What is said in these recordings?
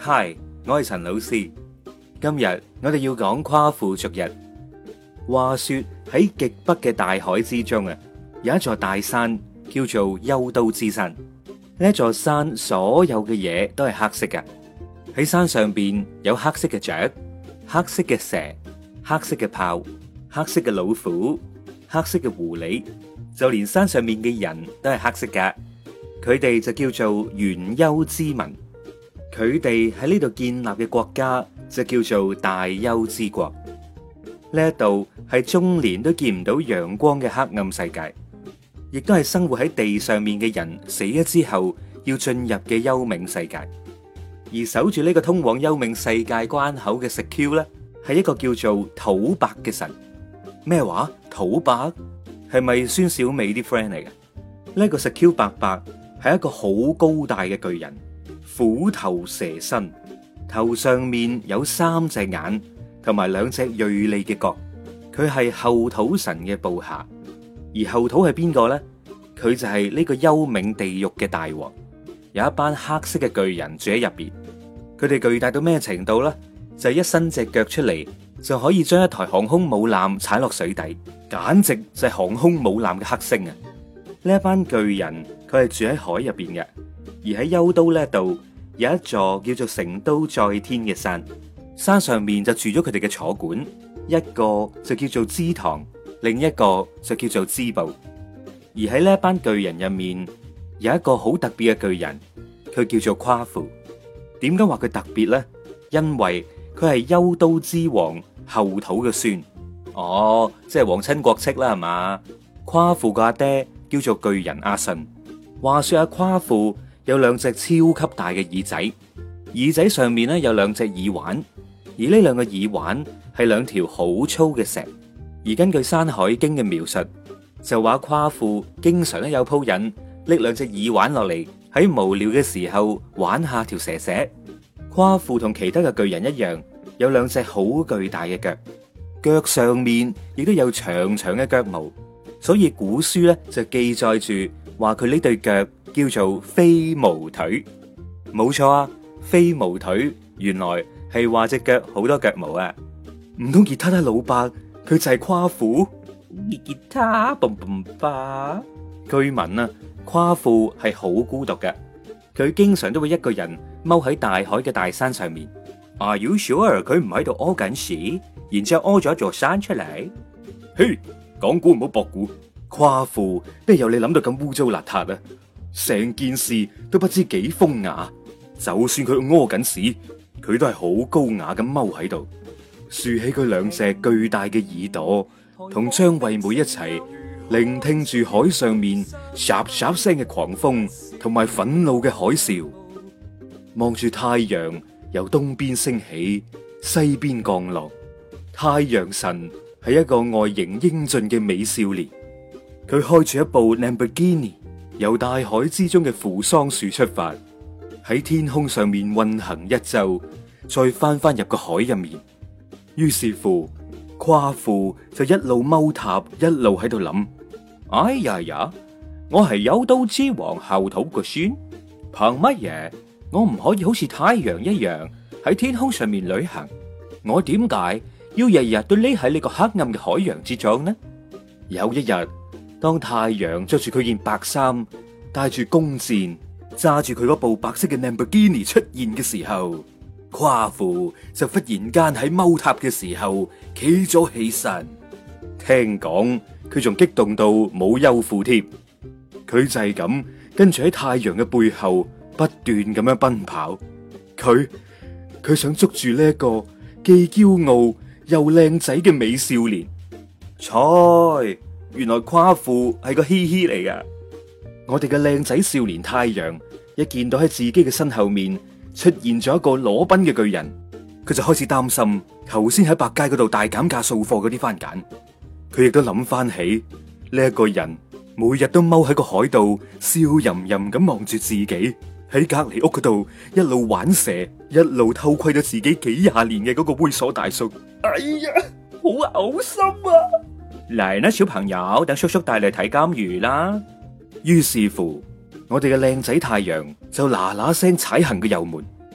嗨，我係陳老師。今日我哋要講夸父逐日。話說喺極北嘅大海之中啊，有一座大山叫做休都之山。呢一座山所有嘅嘢都係黑色嘅。喺山上邊有黑色嘅雀、黑色嘅蛇、黑色嘅豹、黑色嘅老虎、黑色嘅狐狸，就連山上面嘅人都係黑色噶。佢哋就叫做元丘之民。佢哋喺呢度建立嘅國家就叫做大丘之國。呢一度係終年都見唔到陽光嘅黑暗世界，亦都係生活喺地上面嘅人死咗之後要進入嘅幽冥世界。而守住呢個通往幽冥世界關口嘅石 Q 咧，係一個叫做土伯嘅神。咩話？土伯係咪孫小美啲 friend 嚟嘅？呢個石 Q 伯伯係一個好高大嘅巨人，虎頭蛇身，頭上面有3隻眼同埋2隻銳利嘅角。佢係後土神嘅部下。而後土係邊個呢？佢就係呢個幽冥地獄嘅大王。有一班黑色嘅巨人住喺入邊。佢哋巨大到咩程度呢？就係一伸隻腳出嚟就可以將一台航空母艦踩落水底，簡直就係航空母艦嘅黑星啊！呢一班巨人佢係住喺海入邊嘅。而喺休都呢度有一座叫做成都在天嘅山，山上面就住咗佢哋嘅坐館，一個就叫做支堂，另一個就叫做支部。而喺呢一班巨人入面有一個好特別嘅巨人，佢叫做夸父。點解話佢特別呢？因為佢係休都之王後土嘅孫。哦，即係皇親國戚啦，係嘛？夸父個阿爹叫做巨人阿信。話說阿夸父有2隻超級大嘅耳仔，耳仔上面咧有2隻耳環，而呢2個耳環係2條好粗嘅石。而根據《山海經》嘅描述，就話夸父經常咧有鋪癮拎2隻耳環落嚟，喺無聊嘅時候玩下條蛇蛇。夸父同其他嘅巨人一樣，有2隻好巨大嘅腳，腳上面亦都有長長嘅腳毛，所以古書咧就記載住話佢呢對腳叫做飛毛腿。冇錯啊，飛毛腿原來係話隻腳好多腳毛啊！唔通吉他他老伯佢就係夸父？吉他嘣嘣吧。據聞啊，夸父係好孤獨嘅，佢經常都會一個人踎喺大海嘅大山上面。Are you sure 佢唔喺度屙緊屎，然之後屙咗一座山出嚟？嘿，講古唔好博古，夸父邊有你諗到咁污糟邋遢啊！成件事都不知幾風雅，就算佢屙緊屎，佢都係好高雅咁踎喺度，豎起佢2隻巨大嘅耳朵，同張惠妹一齊聆聽住海上面唰唰聲嘅狂風同埋憤怒嘅海嘯，望住太陽由東邊升起，西邊降落。太陽神係一個外形英俊嘅美少年，佢開住一部 Lamborghini，由大海之中嘅扶桑樹出發，喺天空上面運行一周，再翻入個海入面。於是乎，夸父就一路踎塔，一路喺度諗：哎呀呀，我係休都之王後土個孫，憑乜嘢我唔可以好似太陽一樣喺天空上面旅行？我點解要日日都匿喺呢個黑暗嘅海洋之中呢？有一日，當太陽着住佢件白衫，帶住弓箭，揸住佢嗰部白色嘅 Lamborghini 出現嘅時候，夸父就忽然間喺踎塔嘅時候企咗起身。聽講佢仲激動到冇休褲添，佢就係咁跟住喺太陽嘅背後不斷咁樣奔跑。佢想捉住呢一個既驕傲又靚仔嘅美少年。猜，原來夸父係個嘻嘻嚟噶。我哋嘅靚仔少年太陽一見到喺自己嘅身後面出現咗一個裸奔嘅巨人，佢就開始擔心頭先喺百佳嗰度大減價掃貨嗰啲番梘。佢亦都諗翻起呢一個人每日都踎喺個海度笑吟吟咁望住自己，喺隔籬屋嗰度一路玩蛇，一路偷窺咗自己幾廿年嘅嗰個猥瑣大叔。哎呀，好嘔心啊！嚟啦，小朋友，等叔叔帶你睇金魚啦。於是乎，我哋嘅靚仔太陽就嗱嗱聲踩行個油門，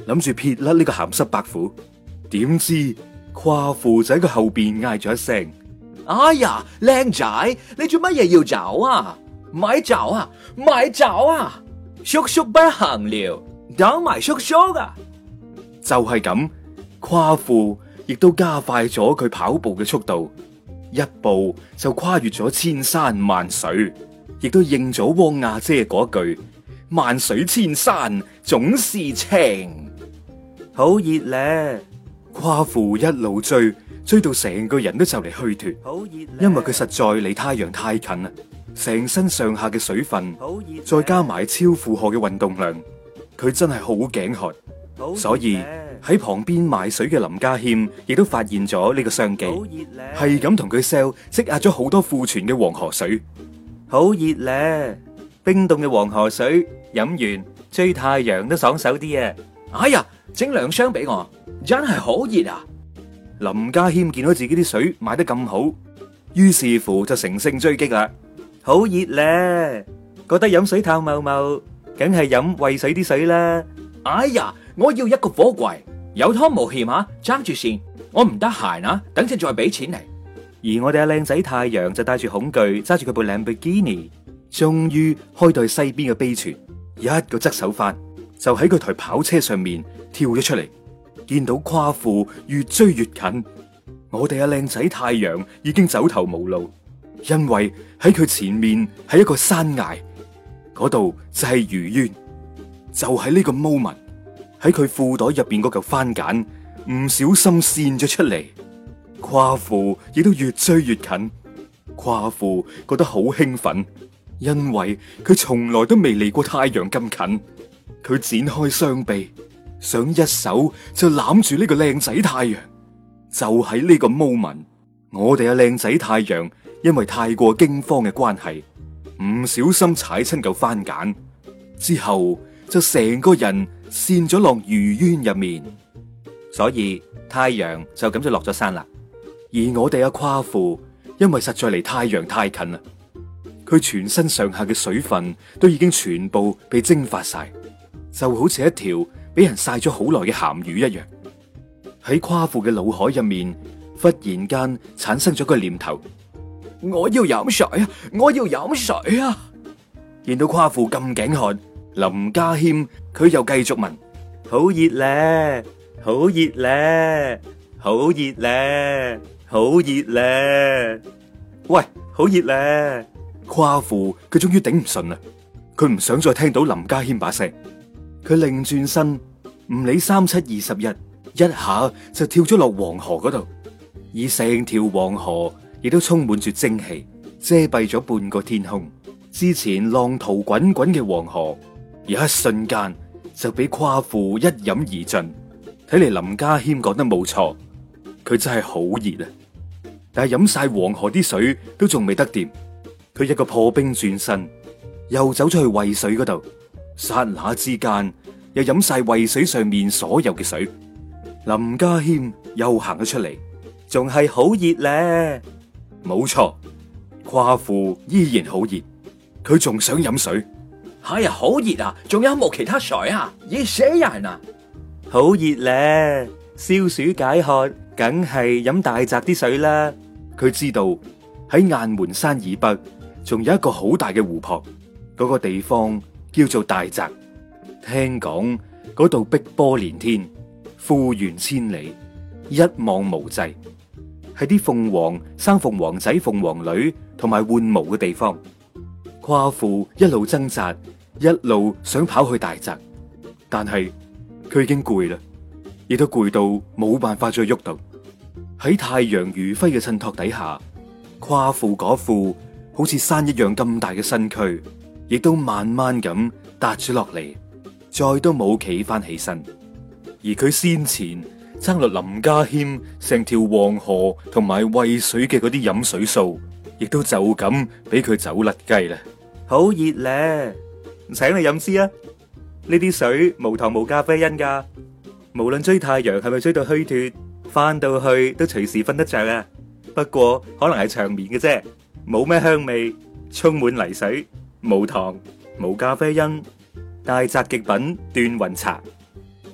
諗住撇甩呢個鹹濕白虎，點知夸父就喺佢後邊嗌咗一聲： 哎呀，靚仔，你做乜嘢要走啊？咪走啊，咪走啊！叔叔不行了，等埋叔叔啊！ 就係咁，夸父亦都加快咗佢跑步嘅速度，一步就跨越咗千山萬水，亦都應咗汪阿姐嗰句：萬水千山總是情。 好熱咧！ 夸父一路追到成個人都就嚟虛脫， 好熱， 因為佢實在離太陽太近啦，成身上下嘅水分，再加埋超負荷嘅運動量，佢真係好頸渴，所以喺旁邊賣水嘅林家謙亦都發現咗呢個商機，係咁同佢 sell 積壓咗好多庫存嘅黃河水。 好熱咧！冰凍嘅黃河水飲完追太陽都爽手啲啊！哎呀，整2箱俾我，真係好熱啊！ 林家謙見到自己啲水賣得咁好，於是乎就乘勝追擊啦。 好熱咧，覺得飲水透茂茂，梗係飲渭水啲水啦。哎呀，我要一個火櫃，有湯冇欠啊，爭住先，我唔得閒啊，等陣再俾錢嚟。 而我哋阿靚仔太陽就帶住恐懼揸住佢部蘭博基尼，終於開到去西邊嘅碑泉，一個側手翻就喺佢台跑車上面跳咗出嚟，見到夸父越追越近，我哋阿靚仔太陽已經走投無路，因為喺佢前面係一個山崖，嗰度就係魚淵。就喺呢個 moment， 喺佢褲袋入邊嗰嚿番梘唔小心跣咗出嚟，夸父亦都越追越近。夸父覺得好興奮，因為佢從來都未離過太陽咁近。佢展開雙臂，想一手就攬住呢個靚仔太陽。就喺呢個 moment， 我哋阿靚仔太陽因為太過驚慌嘅關係，唔小心踩親嚿番梘之後，就成個人跣咗落魚淵入面， 所以太陽就咁就落咗山啦。 而我哋阿夸父因為實在離太陽太近啦，佢全身上下嘅水分都已經全部被蒸發晒，就好似一條俾人曬咗好耐嘅鹹魚一樣。喺夸父嘅腦海入面，忽然間產生咗個念頭： 我要飲水啊！我要飲水啊！ 見到夸父咁頸渴，林家謙佢又繼續問： 好熱咧，好熱咧，好熱咧，好熱咧！喂，好熱咧！ 夸父佢終於頂唔順啦，佢唔想再聽到林家謙把聲，佢擰轉身，唔理3721，一下就跳咗落黃河嗰度，而成條黃河亦都充滿住蒸汽，遮蔽咗半個天空。之前浪濤滾滾嘅黃河，一瞬間就俾夸父一飲而盡。睇嚟林家謙講得冇錯，佢真係好熱啊！但係飲晒黃河啲水都仲未得掂，佢一個破冰轉身，又走咗去渭水嗰度，剎那之間又飲晒渭水上面所有嘅水。林家謙又行咗出嚟， 仲係好熱咧。 冇錯，夸父依然好熱，佢仲想飲水。 哎呀，好熱啊！仲有冇其他水啊？熱死人啊！好熱咧，消暑解渴，梗係飲大澤啲水啦。 佢知道喺雁門山以北，仲有一個好大嘅湖泊，嗰個地方叫做大澤。聽講嗰度碧波連天，富源千里，一望無際，係啲鳳凰生鳳凰仔、鳳凰女同埋換毛嘅地方。夸父一路掙扎，一路想跑去大澤，但係佢已經攰啦，亦都攰到冇辦法再喐到。喺太陽餘暉嘅襯托底下，夸父嗰副好似山一樣咁大嘅身軀，亦都慢慢咁搭咗落嚟，再都冇企翻起身。而佢先前爭落林家謙成條黃河同埋渭水嘅嗰啲飲水數，亦都就咁俾佢走甩雞啦。 好熱咧，請你飲支啊！呢啲水無糖無咖啡因噶，無論追太陽係咪追到虛脫，翻到去都隨時瞓得着啊！不過可能係長眠嘅啫，冇咩香味，充滿泥水，無糖無咖啡因，大澤極品斷魂茶。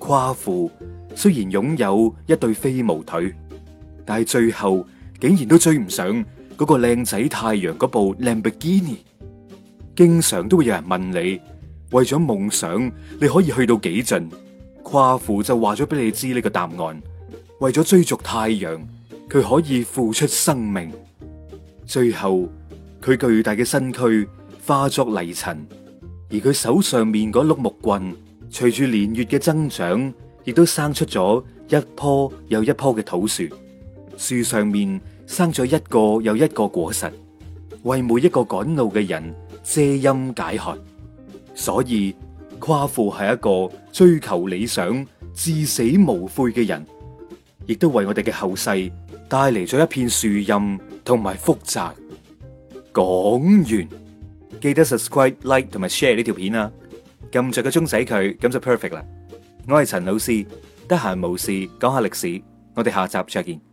夸父雖然擁有一對飛毛腿，但係最後竟然都追唔上嗰個靚仔太陽嗰部 Lamborghini。經常都會有人問你，為咗夢想你可以去到幾盡？夸父就話咗俾你知呢個答案：為咗追逐太陽，佢可以付出生命。最後佢巨大嘅身軀化作泥塵，而佢手上面嗰碌木棍，隨住年月嘅增長，亦都生出咗一棵又一棵嘅土樹。樹上面生咗一個又一個果實，為每一個趕路嘅人遮陰解渴。所以夸父係一個追求理想、至死無悔嘅人，亦都為我哋嘅後世帶嚟咗一片樹蔭同埋福澤。講完，記得 subscribe、like 同埋 share 呢條片啊！撳着個鐘仔佢，咁就 perfect 啦。我係陳老師，得閒無事講下歷史，我哋下集再見。